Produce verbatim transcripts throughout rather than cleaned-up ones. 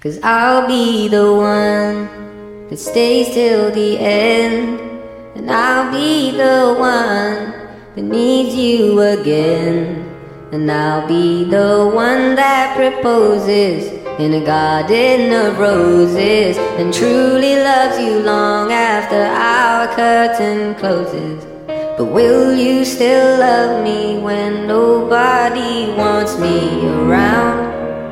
'Cause I'll be the one that stays till the end, and I'll be the one that needs you again, and I'll be the one that proposes in a garden of roses, and truly loves you long after our curtain closes. But will you still love me when nobody wants me around?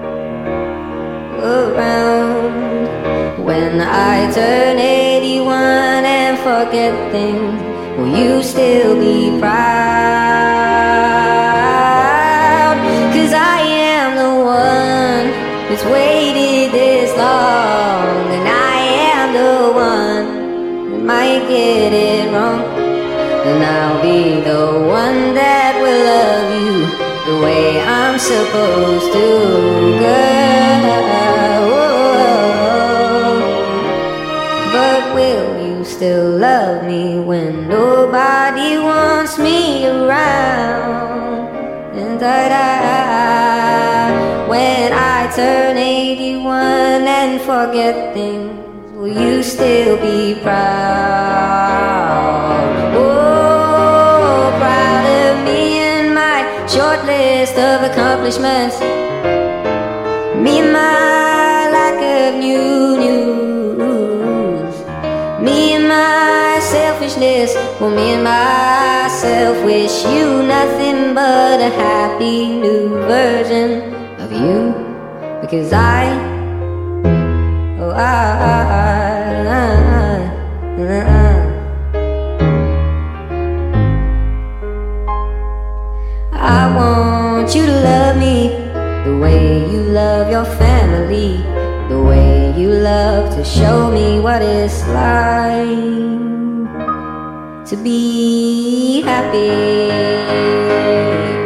Around. When I turn eighty-one and forget things, will you still be proud? 'Cause I am the one that's waited this long, and I am the one that might get it wrong, and I'll be the one that will love you the way I'm supposed to, girl. But will you still love me when nobody wants me around? And da-da, when I turn eighty-one and forget things, will you still be proud? Oh, proud of me and my short list of accomplishments, me and my lack of new news, me and my selfishness. Well, me and myself wish you nothing but a happy new version of you, because I, oh I, I, I, I, I I want you to love me the way you love your family, the way you love to show me what it's like to be happy.